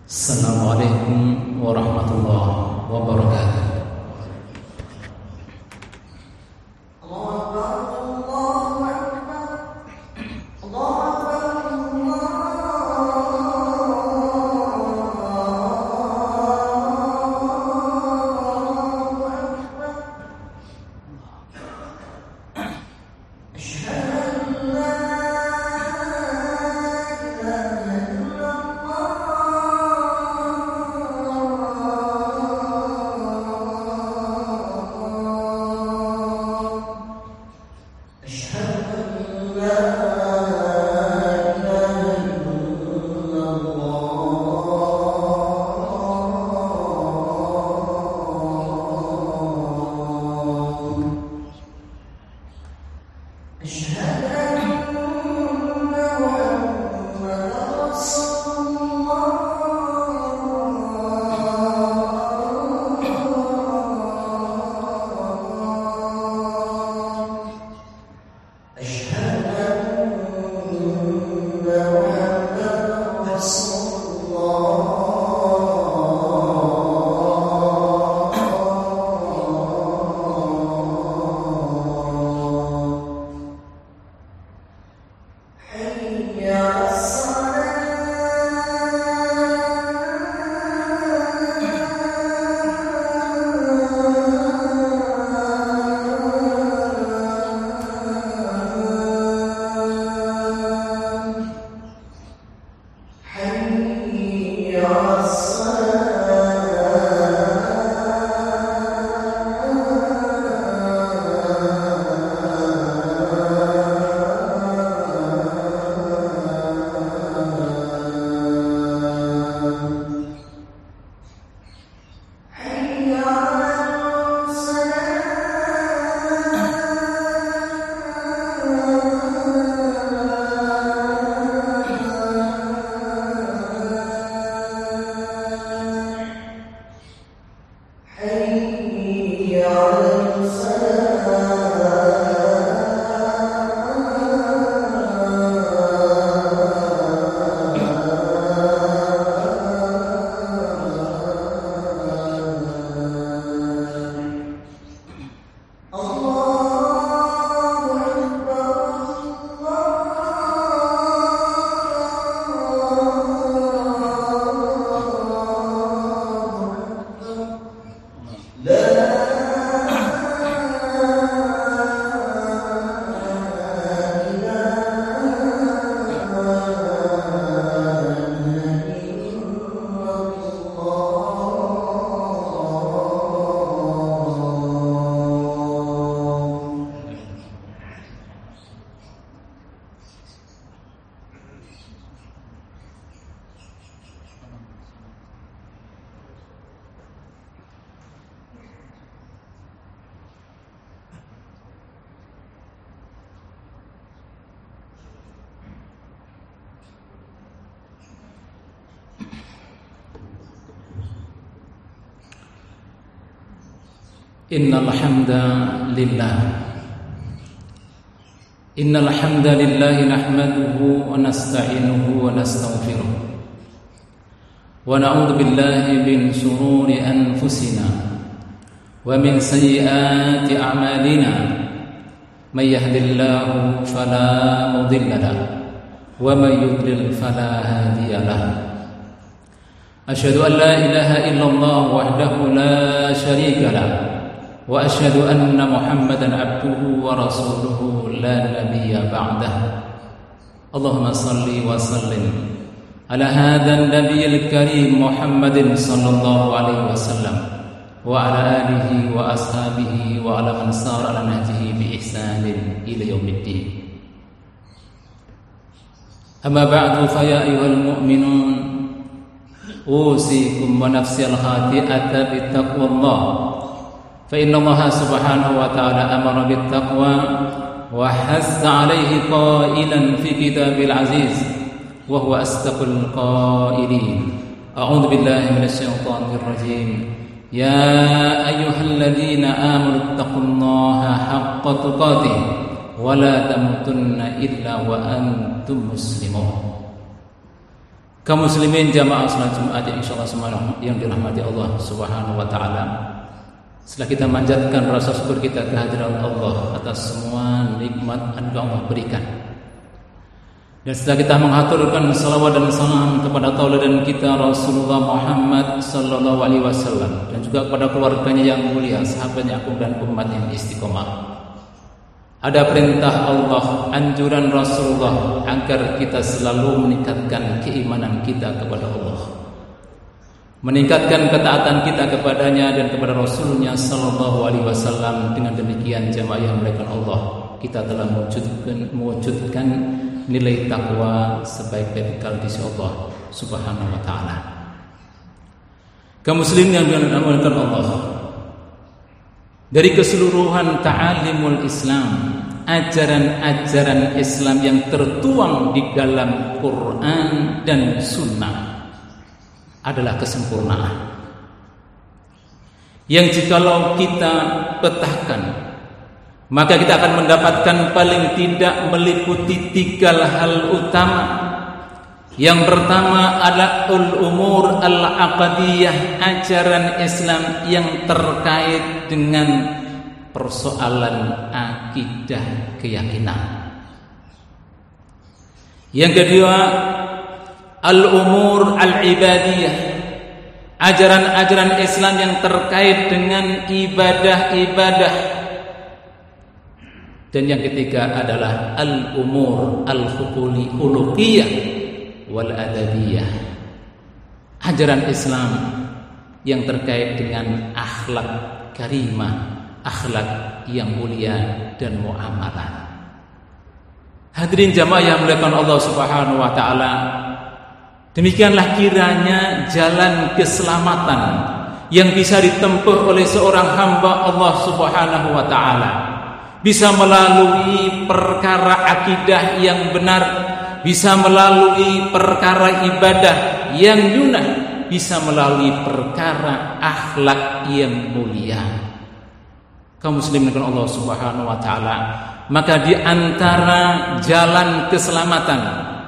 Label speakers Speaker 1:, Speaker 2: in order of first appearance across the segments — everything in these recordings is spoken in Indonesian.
Speaker 1: Assalamualaikum warahmatullahi wabarakatuh. Innal hamdalillah nahmaduhu wa nasta'inuhu wa nastaghfiruh wa na'udzu billahi min shururi anfusina wa min sayyiati a'malina may yahdihillahu fala mudilla lahu wa may yudlil fala hadiya lahu. Asyhadu an la ilaha illallah wahdahu la syarika lahu wa asyhadu anna Muhammadan abduhu wa rasuluhu la nabiyya ba'dahu. Allahumma salli wa sallim ala hadzal nabiyil karim Muhammadin sallallahu alaihi wasallam wa ala alihi wa ashabihi wa ala man sara ala nahjihi bi ihsanin ila yaumiddin. Amma ba'du fa ya ayyuhal mu'minun usikum wa nafsi al-khati'ata bi taqwallah. فإن الله سبحانه وتعالى أمر بالتقوى وحث عليه قائلا في كتابه العزيز وهو أصدق القائلين. أعوذ بالله من الشيطان الرجيم. يا أيها الذين آمنوا اتقوا الله حق تقاته ولا تموتن إلا وأنتم مسلمون. Kaum muslimin jamaah salat Jumat yang insyaallah semua yang dirahmati Allah Subhanahu wa taala. Setelah kita manjatkan rasa syukur kita kehadiran Allah atas semua nikmat yang Allah berikan. Dan setelah kita menghaturkan salawat dan salam kepada tauladan kita Rasulullah Muhammad sallallahu alaihi wasallam dan juga kepada keluarganya yang mulia, sahabatnya agung dan umat yang istiqomah. Ada perintah Allah, anjuran Rasulullah agar kita selalu meningkatkan keimanan kita kepada Allah, meningkatkan ketaatan kita kepadanya dan kepada Rasulnya sallallahu alaihi wasallam. Dengan demikian jamaah yang dimuliakan Allah, kita telah mewujudkan nilai takwa sebaik-baik bekal di sisi Allah Subhanahu wa taala. Kaum muslimin yang dimuliakan Allah, dari keseluruhan ta'alimul Islam, ajaran-ajaran Islam yang tertuang di dalam Quran dan Sunnah adalah kesempurnaan yang jikalau kita petahkan, maka kita akan mendapatkan paling tidak meliputi 3 hal utama. Yang pertama adalah umur al-aqdiyah, ajaran Islam yang terkait dengan persoalan akidah keyakinan. Yang kedua al-umur al-ibadiyah, ajaran-ajaran Islam yang terkait dengan ibadah-ibadah. Dan yang ketiga adalah al-umur al-khuluqiyah wal adabiyah, ajaran Islam yang terkait dengan akhlak karimah, akhlak yang mulia dan muamalah. Hadirin jamaah yang dimuliakan Allah Subhanahu wa taala, demikianlah kiranya jalan keselamatan yang bisa ditempuh oleh seorang hamba Allah Subhanahu wa taala, bisa melalui perkara akidah yang benar, bisa melalui perkara ibadah yang yunah, bisa melalui perkara akhlak yang mulia. Kaum muslimin dengan Allah Subhanahu wa taala, maka di antara jalan keselamatan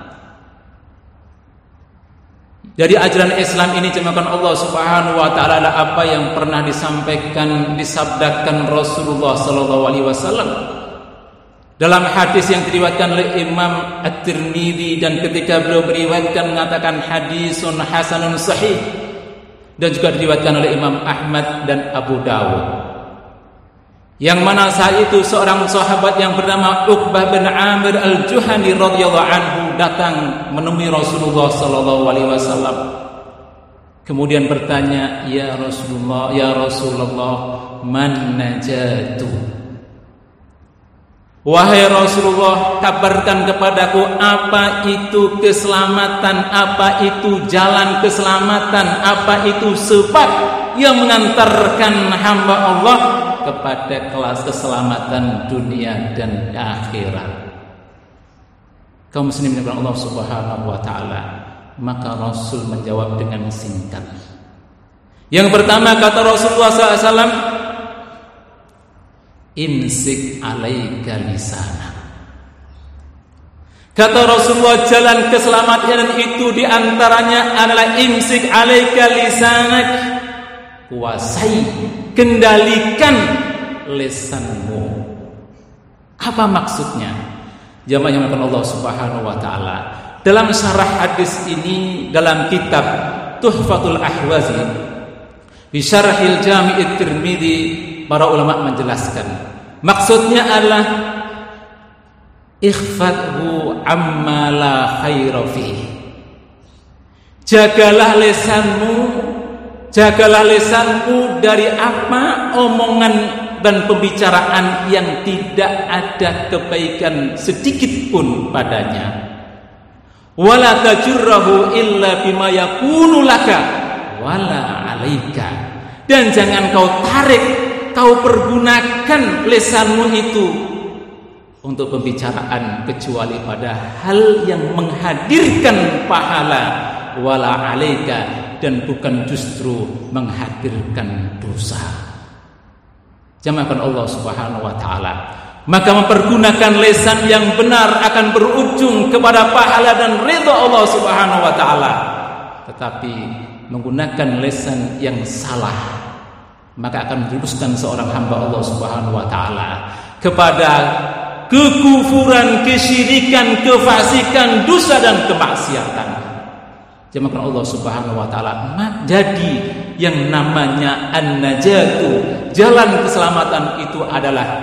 Speaker 1: dari ajaran Islam ini jemaah Allah Subhanahu wa taala adalah apa yang pernah disabdakan Rasulullah sallallahu alaihi wasallam dalam hadis yang diriwayatkan oleh Imam At-Tirmidzi, dan ketika beliau meriwayatkan mengatakan hadisun hasanun sahih, dan juga diriwayatkan oleh Imam Ahmad dan Abu Dawud, yang mana saat itu seorang sahabat yang bernama Uqbah bin Amir Al-Juhani radhiyallahu anhu datang menemui Rasulullah sallallahu alaihi wasallam, kemudian bertanya, ya Rasulullah, man najatu? Wahai Rasulullah, kabarkan kepadaku apa itu keselamatan, apa itu jalan keselamatan, apa itu sebab yang mengantarkan hamba Allah kepada kelas keselamatan dunia dan akhirat. Kaum muslimin yang Allah Subhanahu wa taala, maka Rasul menjawab dengan singkat. Yang pertama kata Rasulullah SAW, imsik alaika lisana. Kata Rasulullah, jalan keselamatan itu diantaranya adalah imsik alaika lisanak, kuasai, kendalikan lisanmu. Apa maksudnya? Jamaah yang dimuliakan Allah Subhanahu wa taala, dalam syarah hadis ini dalam kitab Tuhfatul Ahwazi bi Syarhil Jami' Tirmidzi, para ulama menjelaskan maksudnya adalah ikhfadhu amma la khaira fihi. Jagalah lisanmu dari apa omongan dan pembicaraan yang tidak ada kebaikan sedikit pun padanya. Wala tajurrahu illa bima yakunu laka wala alaika. Dan jangan kau tarik, kau pergunakan lisanmu itu untuk pembicaraan kecuali pada hal yang menghadirkan pahala, wala alaika, dan bukan justru menghadirkan dosa. Jamaah Allah Subhanahu wa taala, maka mempergunakan lisan yang benar akan berujung kepada pahala dan ridha Allah Subhanahu wa taala. Tetapi menggunakan lisan yang salah, maka akan menjerumuskan seorang hamba Allah Subhanahu wa taala kepada kekufuran, kesyirikan, kefasikan, dosa dan kemaksiatan. Jamaah Allah Subhanahu wa taala, jadi yang namanya an-najatu, jalan keselamatan itu adalah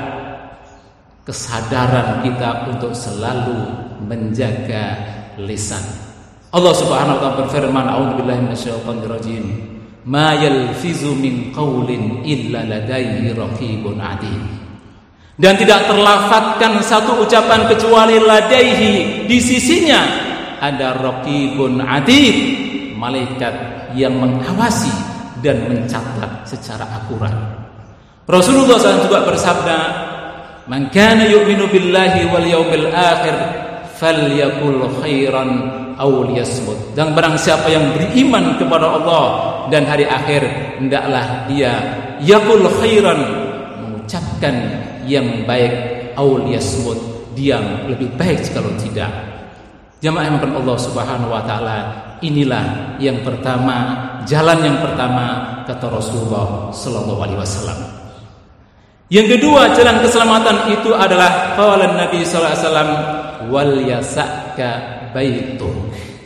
Speaker 1: kesadaran kita untuk selalu menjaga lisan. Allah Subhanahu wa taala berfirman, a'udzubillahi minasyaitonir rajim, ma yalfizu min qaulin illa ladaihi raqibun atid. Dan tidak terlafadzkan satu ucapan kecuali ladaihi, di sisinya ada raqibun atid, malaikat yang mengawasi dan mencatat secara akurat. Rasulullah SAW juga bersabda, man kana yu'minu billahi wal yawmil akhir falyakul khairan aw liyasmut. Dan barang siapa yang beriman kepada Allah dan hari akhir, hendaklah dia yakul khairan, mengucapkan yang baik, aw liyasmut, diam, lebih baik kalau tidak. Jamaah yang dimuliakan Allah Subhanahu wa taala, inilah yang pertama, jalan yang pertama kata Rasulullah sallallahu alaihi wasallam. Yang kedua, jalan keselamatan itu adalah qala Nabi sallallahu alaihi wasallam, wal yasaka baituk.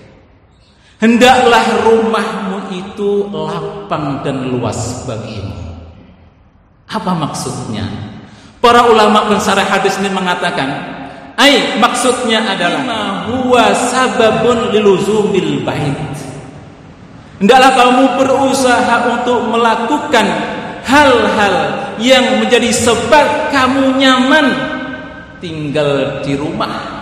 Speaker 1: Hendaklah rumahmu itu lapang dan luas bagimu. Apa maksudnya? Para ulama pensarah hadis ini mengatakan, maksudnya adalah huwa sababun liluzumil bait. Hendaklah kamu berusaha untuk melakukan hal-hal yang menjadi sebab kamu nyaman tinggal di rumah.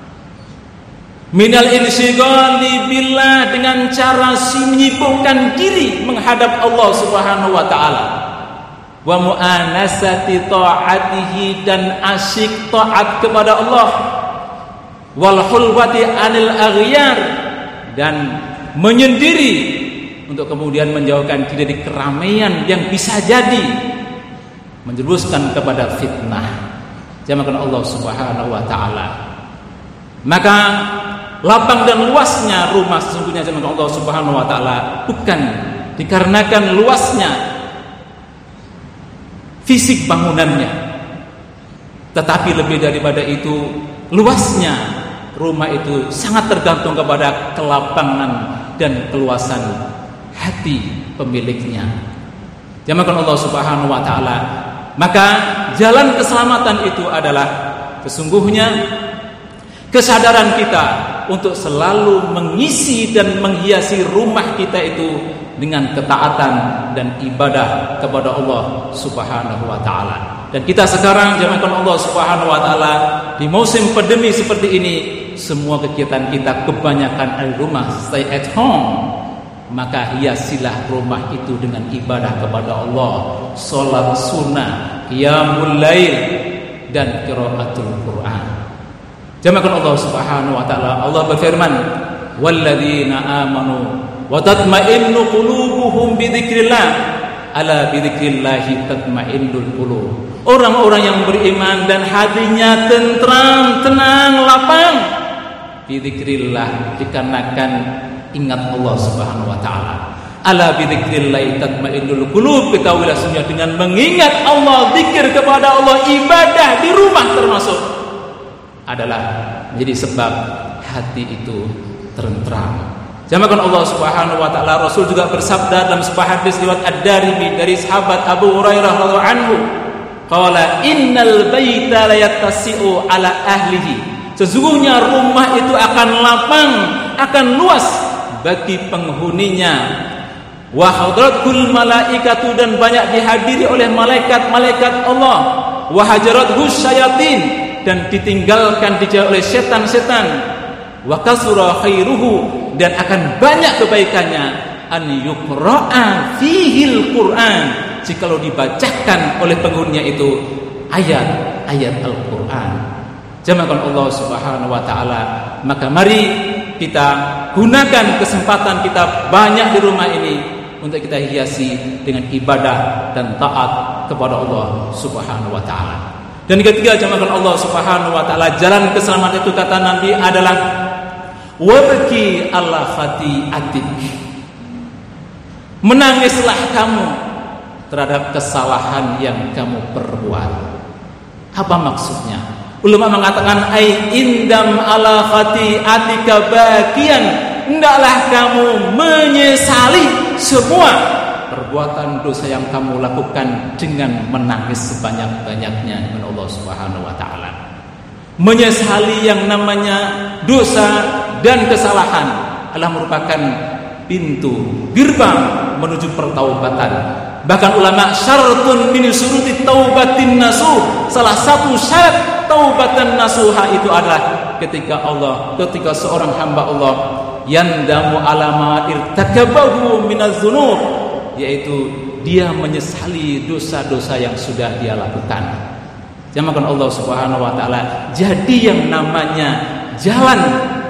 Speaker 1: Minal insyighali billah, dengan cara menyibukkan diri menghadap Allah Subhanahu wa taala. Wa mu'anasati ta'atihi, dan asyik taat kepada Allah. Wal hulwati anil aghyar, dan menyendiri untuk kemudian menjauhkan diri dari keramaian yang bisa jadi menjerumuskan kepada fitnah. Jamaah Allah Subhanahu wa taala. Maka lapang dan luasnya rumah sesungguhnya jamaah Allah Subhanahu wa taala bukan dikarenakan luasnya fisik bangunannya, tetapi lebih daripada itu, luasnya rumah itu sangat tergantung kepada kelapangan dan keluasan hati pemiliknya. Jamaah Allah Subhanahu wa taala, maka jalan keselamatan itu adalah sesungguhnya kesadaran kita untuk selalu mengisi dan menghiasi rumah kita itu dengan ketaatan dan ibadah kepada Allah Subhanahu wa taala. Dan kita sekarang jamaah Allah Subhanahu wa taala di musim pandemi seperti ini, semua kegiatan kita kebanyakan di rumah, stay at home. Maka hiasilah rumah itu dengan ibadah kepada Allah, salat sunnah, qiyamul lail, dan qiraatul Quran. Jamaah Allah Subhanahu wa taala, Allah berfirman, walladzina amanu wa tatma'innu qulubuhum bi dzikrillah, ala bi dzikrillah tatma'innul qulub. Orang-orang yang beriman dan hatinya tentram, tenang, lapang bi dzikrillah, dikarenakan ingat Allah Subhanahu wa taala. Ala bi dzikrillah tatmainnul qulub, ketahuilah sesungguhnya dengan mengingat Allah, zikir kepada Allah, ibadah di rumah termasuk adalah menjadi sebab hati itu tentram. Jamaah Allah Subhanahu wa taala, Rasul juga bersabda dalam sebuah hadis riwayat Ad-Darimi dari sahabat Abu Hurairah radhiyallahu anhu, qala innal baita la yattasi'u ala ahlihi. Sesungguhnya rumah itu akan lapang, akan luas bagi penghuninya. Wa hadratul malaikatu, dan banyak dihadiri oleh malaikat-malaikat Allah. Wa hajarathu syayatin, dan ditinggalkan dijauhi oleh setan-setan. Wa kasura khairuhu, dan akan banyak kebaikannya, an yuqra'a fihil Qur'an, jikalau dibacakan oleh penghuninya itu ayat-ayat Al-Qur'an. Jamaah Allah Subhanahu wa taala, maka mari kita gunakan kesempatan kita banyak di rumah ini untuk kita hiasi dengan ibadah dan taat kepada Allah Subhanahu wa taala. Dan ketiga, jamaah Allah Subhanahu wa taala, jalan keselamatan itu kata Nabi adalah wabki ala khati'atik. Menangislah kamu terhadap kesalahan yang kamu perbuat. Apa maksudnya? Ulama mengatakan ai indam ala khati'atika bakian, hendaklah kamu menyesali semua perbuatan dosa yang kamu lakukan dengan menangis sebanyak-banyaknya dengan Allah Subhanahu wa taala. Menyesali yang namanya dosa dan kesalahan adalah merupakan pintu gerbang menuju pertaubatan. Bahkan ulama, syaratun min syuruti taubatin nasuh, salah satu syarat taubatan nasuha itu adalah ketika seorang hamba Allah yandamu ala ma irtakabahu minaz dzunub, yaitu dia menyesali dosa-dosa yang sudah dia lakukan. Jamakan Allah Subhanahu wa taala. Jadi yang namanya jalan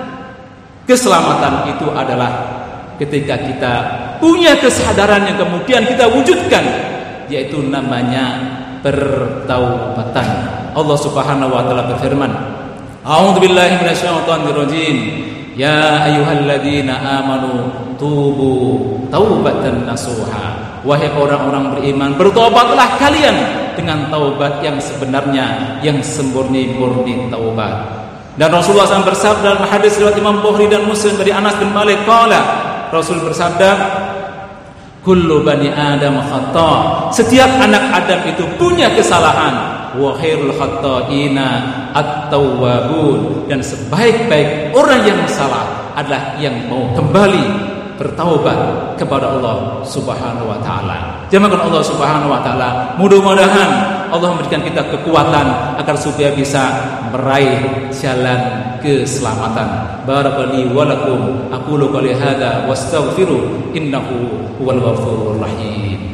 Speaker 1: keselamatan itu adalah ketika kita punya kesadaran yang kemudian kita wujudkan, yaitu namanya pertaubatan. Allah Subhanahu wa taala berfirman, A'udzubillahi minasyaitonirrajim. Ya ayyuhalladzina amanu tubu taubatan nasuha. Wahai orang-orang beriman, bertobatlah kalian dengan taubat yang sebenarnya, yang semurni-murni taubat. Dan Rasulullah SAW bersabda dalam hadis riwayat Imam Bukhari dan Muslim dari Anas bin Malik, qala, Rasul bersabda, kullu bani Adam khata'. Setiap anak Adam itu punya kesalahan. Wa khairul khata'ina at-tawwabun. Dan sebaik-baik orang yang salah adalah yang mau kembali bertaubat kepada Allah Subhanahu wa taala. Jamaah Allah Subhanahu wa taala, mudah-mudahan Allah memberikan kita kekuatan agar supaya bisa meraih jalan keselamatan. Barakallahu wa lakum, aqulu qouli hadza wastaghfiru innahu huwal ghafurur rahim.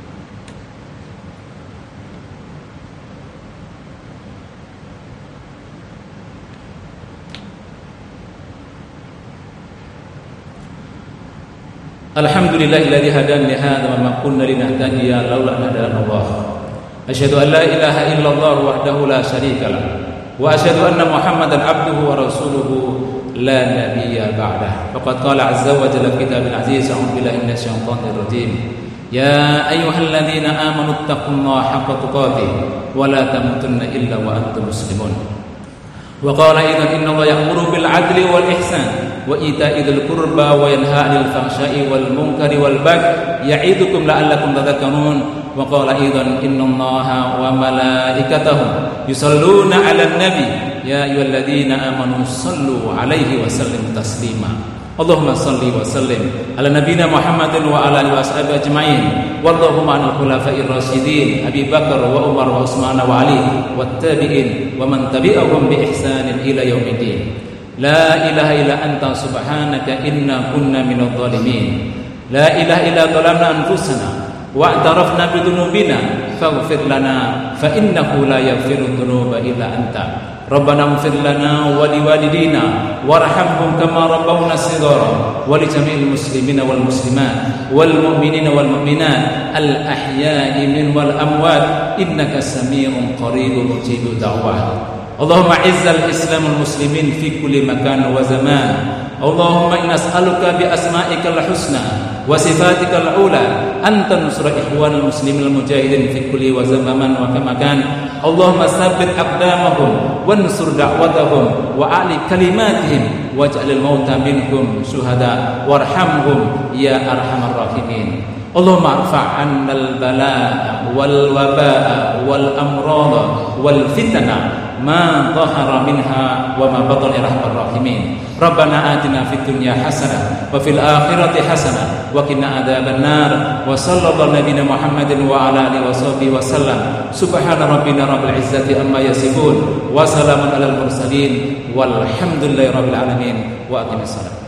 Speaker 1: Alhamdulillahilladzi hadana li hadza wa ma kunna linahtadiya laula an hadana Allah. Asyhadu an la ilaha illallah wahdahu la syarika lah wa asyhadu anna Muhammadan abduhu wa rasuluhu la nabiyya ba'dah. Faqad qala azza wa jalla fi kitabil aziz, a'udzu billahi minasyaitonir rajim. Ya ayyuhalladzina amanu taqullaha haqqa tuqatih wa la tamutunna illa wa antum muslimun. Wa qala aidan innallaha ya'muru bil 'adli wal ihsan wa ita'i dzil qurba wa yanha 'anil fahsya'i wal munkari wal baghi ya'idukum la'allakum tadhakkarun. Wa qala aidan innallaha wa malaikatahu yusalluna 'alan nabi ya ayyuhalladzina amanu sallu 'alaihi wa sallimu taslima. Allahumma salli wa sallim ala nabiyyina Muhammadin wa ala alihi washabihi ajma'in. Wallahumma 'anil khulafa'ir rasyidin Abi Bakar wa Umar wa Utsman wa Ali wat tabi'in wa man tabi'ahum bi ihsanin ila yaumiddin. La ilaha illa anta subhanaka inna kunna minadh dhalimin. La ilaha illa dhalamna anfusana wa i'tarafna bi dhunubina faghfir lana fa innahu la yaghfiru dhunuba illa anta. Rabbana ighfir lana wa liwalidina warhamhum kama rabbawna shighara wa li jami'il muslimina wal muslimat wal mu'minina wal mu'minat al ahya'i min wal amwat innaka samii'un qaribun mujibud da'wah. Allahumma izzal islam wal muslimin fi kulli makan wa zaman. Allahumma inna nas'aluka bi asma'ikal husna wa sifatikal ula an tansura ikhwanal muslimin al mujahidin fi kulli wa zaman wa makan. Allahumma tsabbit aqdamahum wansur da'watahum wa ali kalimatihim waj'alil mauta minhum syuhada warhamhum ya arhamar rahimin. Allahumma arfa'annal balaa wal wabaa wal amrada wal fitna ma dhahara minha wa ma batana rahmar rahimin. Rabbana atina fid dunya hasanah wa fil akhirati hasanah wa qina adzabannar. Wa sallallahu nabiyana Muhammadin wa ala alihi washabihi wasallam. Subhana rabbina rabbil izzati amma yasifun wa salamun alal mursalin walhamdulillahi rabbil alamin. Wa aqimissalam.